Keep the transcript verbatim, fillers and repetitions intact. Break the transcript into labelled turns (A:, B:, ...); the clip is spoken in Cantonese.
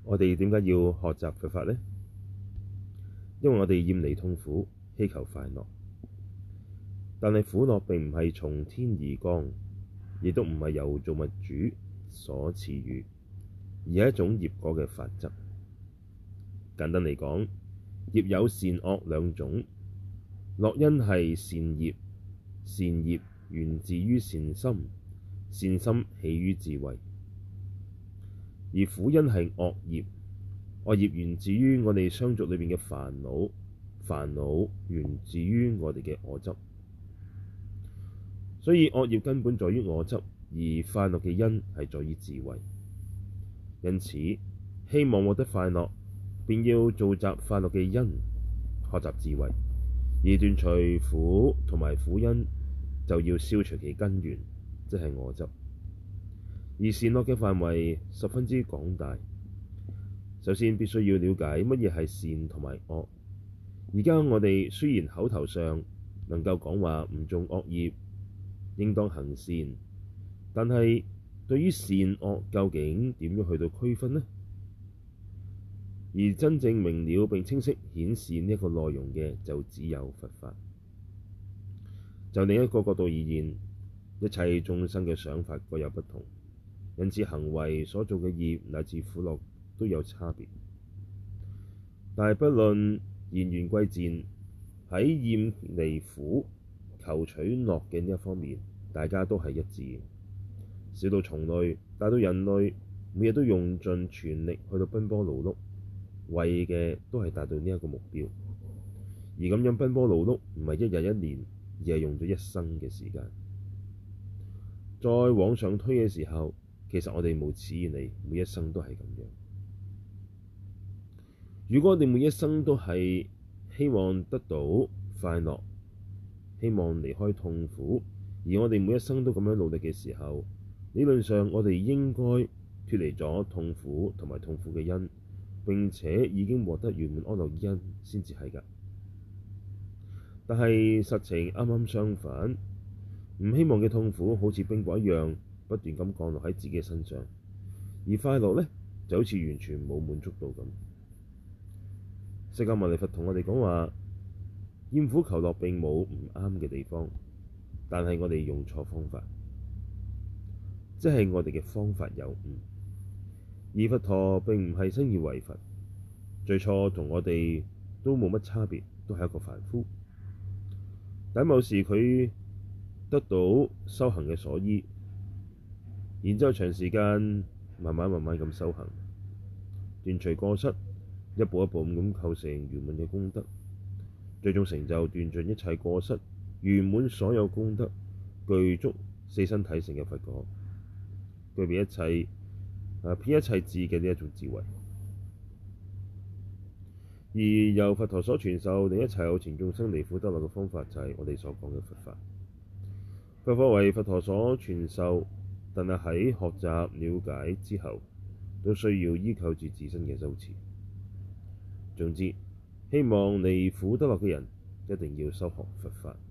A: 我哋點解要學習佛法呢？因為我哋厭離痛苦，希求快樂。但係苦樂並唔係從天而降，亦都唔係由造物主所賜予，而係一種業果嘅法則。簡單嚟講，業有善惡兩種，樂因係善業，善業源自於善心，善心起於智慧；而苦因係惡業，惡業源自於我哋相續裏面嘅煩惱，煩惱源自於我哋嘅我執。所以惡業根本在於我執，而快樂嘅因係在於智慧。因此，希望獲得快樂，便要造集快樂嘅因，學習智慧；而斷除苦同埋苦因，就要消除其根源，即係我執。而善惡嘅範圍十分之廣大。首先必須要了解乜嘢係善同埋惡。而家我哋雖然口頭上能夠講話唔種惡業，應當行善，但係對於善惡究竟點樣去到區分呢？而真正明了並清晰顯示呢一個內容嘅，就只有佛法。就另一個角度而言，一切眾生嘅想法各有不同，因此行為所做嘅業乃至苦樂都有差別。但係不論言緣貴賤，喺厭離苦求取樂嘅呢一方面，大家都係一致嘅。小到蟲類，大到人類，每日都用盡全力去到奔波勞碌，為嘅都係達到呢一個目標。而咁樣奔波勞碌，唔係一日一年，而係用咗一生嘅時間。再往上推嘅時候，其實我哋無始以來每一生都係咁樣。如果我哋每一生都係希望得到快樂，希望離開痛苦，而我哋每一生都咁樣努力嘅時候，理論上我哋應該脫離咗痛苦同埋痛苦嘅因，並且已經獲得圓滿安樂因先至係㗎。但係實情啱啱相反，唔希望嘅痛苦好似冰雹一樣不斷咁降落喺自己身上，而快樂呢就好似完全冇滿足到咁。釋迦牟尼佛同我哋講話，厭苦求樂並冇唔啱嘅地方，但係我哋用錯方法，即係我哋嘅方法有誤。而佛陀並唔係身意為佛，最初同我哋都冇乜差別，都係一個凡夫。但某時佢得到修行嘅所依，然之後長時間慢慢慢慢咁修行，斷除過失，一步一步咁構成圓滿嘅功德，最終成就斷盡一切過失，圓滿所有功德，具足四身體性嘅佛果，具備一切啊遍一切智嘅呢一種智慧。而由佛陀所傳授令一切有情眾生離苦得樂嘅方法，就係我哋所講嘅佛法。佛法為佛陀所傳授，但係喺學習了解之後，都需要依靠住自身嘅修持。總之，希望離苦得樂嘅人一定要修學佛法。